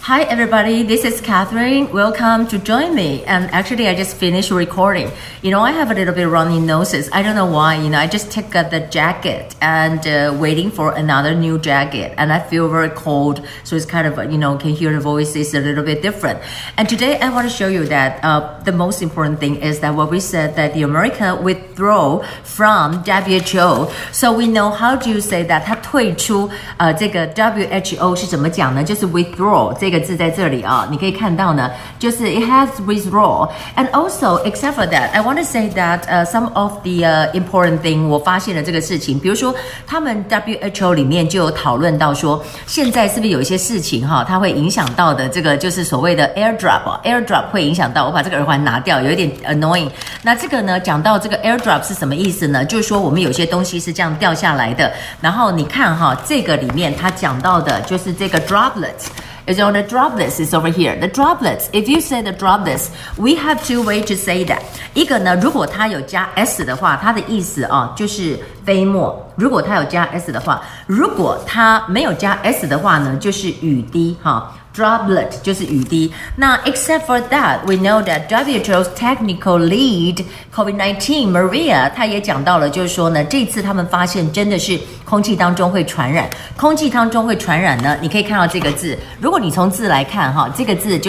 Hi everybody, this is Catherine. Welcome to join me. And actually I just finished recording. I have a little bit runny noses. I don't know why. I just took the jacket and waiting for another new jacket. And I feel very cold. So it's kind of, can hear the voice is a little bit different. And today I want to show you that the most important thing is that what we said that the America withdraw from WHO. So we know how do you say that 它退出这个 WHO 是怎么讲呢？就是 withdraw 这个字在这里啊，你可以看到呢，就是 it has withdraw. And also, except for that, I want to say that some of the important thing 我发现了这个事情，比如说他们 WHO 里面就有讨论到说，现在是不是有一些事情哈，它会影响到的这个就是所谓的 airdrop 会影响到，我把这个耳环拿掉，有一点 annoying。那这个呢，讲到这个 airdrop 是什么意思呢？就是说我们有些东西是这样掉下来的，然后你看哈，这个里面它讲到的就是这个 droplets。Is on the droplets is over here. The droplets, if you say the droplets, we have two ways to say that. 一个呢，如果它有加 s 的话，它的意思啊就是飞沫。如果它有加 s 的话，如果它没有加 s 的话呢，就是雨滴哈。Droplet 就是雨滴。那 except for that, we know that WHO's technical lead COVID-19 Maria 她也讲到了，就是说呢，这次他们发现真的是空气当中会传染。空气当中会传染呢，你可以看到这个字。如果你从字来看哈，这个字就是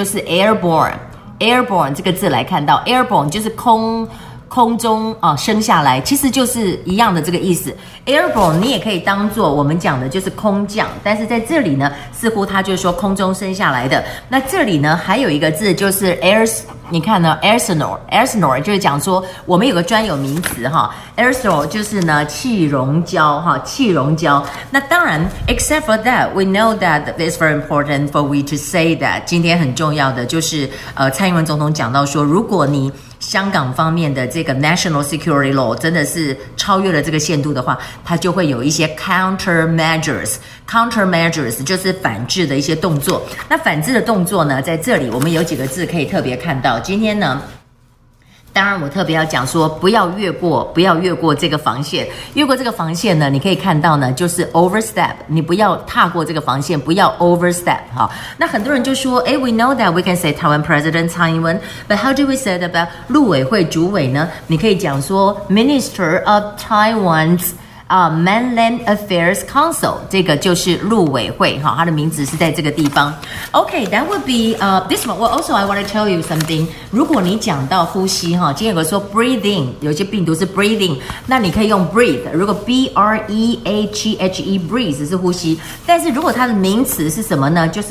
airborne 这个字来看到 airborne 就是空中升下来，其实就是一样的这个意思。Airborne 你也可以当做我们讲的就是空降，但是在这里呢，似乎它就是说空中升下来的。那这里呢，还有一个字就是 你看呢 aerosol 就是讲说我们有个专有名词哈 aerosol 就是呢气溶胶哈气溶胶。那当然 except for that we know that it's very important for we to say that 今天很重要的就是蔡英文总统讲到说，如果你香港方面的这个 national security law 真的是超越了这个限度的话，它就会有一些 countermeasures 就是反制的一些动作。那反制的动作呢，在这里我们有几个字可以特别看到。今天呢，当然我特别要讲说不要越过这个防线。越过这个防线呢，你可以看到呢，就是 overstep， 你不要踏过这个防线，不要 overstep 哈。那很多人就说we know that we can say Taiwan President 蔡英文 but how do we say that about 陆委会主委呢？你可以讲说 Minister of Taiwan's Mainland Affairs Council， 这个就是陆委会哈，它的名字是在这个地方。Okay, that would be this one. Well, also I want to tell you something. 如果你讲到呼吸哈，今天有个说 breathing， 有些病毒是 breathing， 那你可以用 breathe。如果 breathe breathe 是呼吸，但是如果它的名词是什么呢？就是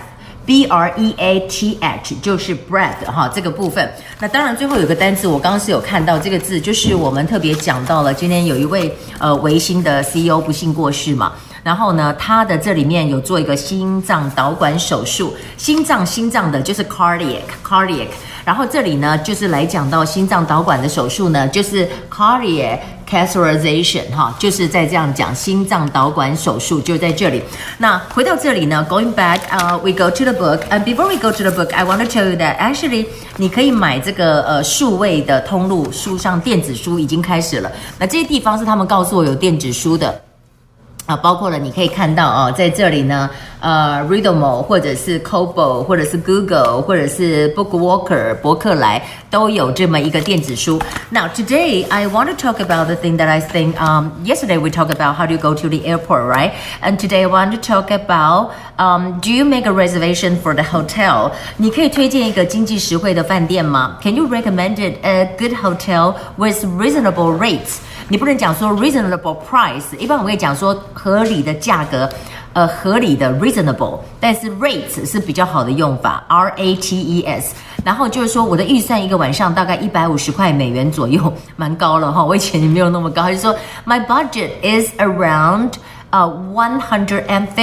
breath。breath 就是 breath 哈，这个部分。那当然最后有个单字我刚刚是有看到这个字，就是我们特别讲到了，今天有一位微星的 CEO 不幸过世嘛，然后呢他的这里面有做一个心脏导管手术，心脏的就是 cardiac， 然后这里呢就是来讲到心脏导管的手术呢，就是 cardiac catheterization 哈，就是在这样讲心脏导管手术就在这里。那回到这里呢 going back we go to the book and before we go to the book I want to tell you that actually 你可以买这个数位的通路，书上电子书已经开始了。那这些地方是他们告诉我有电子书的包括了你可以看到在这里呢Readmo 或者是 Kobo 或者是 Google 或者是 Bookwalker 博客来都有这么一个电子书。Now today I want to talk about the thing that I think yesterday we talked about how do you go to the airport, right? And today I want to talk about do you make a reservation for the hotel? 你可以推荐一个经济实惠的饭店吗？ Can you recommend it a good hotel with reasonable rates?你不能讲说 reasonable price， 一般我们可以讲说合理的价格，合理的 reasonable， 但是 rates 是比较好的用法 rates。然后就是说我的预算一个晚上大概150块美元左右，蛮高了哈，我以前也没有那么高。他就说 my budget is around $150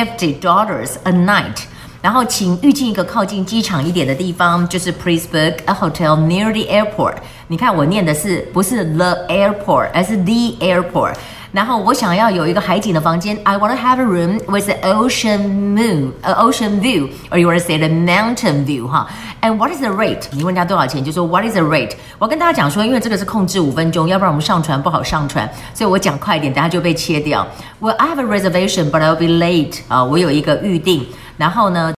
a night。然后请预计一个靠近机场一点的地方，就是 please book a hotel near the airport。你看我念的是不是 the airport， 而是 the airport。然后我想要有一个海景的房间 I want to have a room with an ocean view or you want to say the mountain view 哈。And what is the rate？ 你问他多少钱就说 what is the rate？ 我跟大家讲说因为这个是控制5分钟，要不然我们上传不好上传，所以我讲快一点等下就被切掉。Well I have a reservation but I'll be late 我有一个预定，然后呢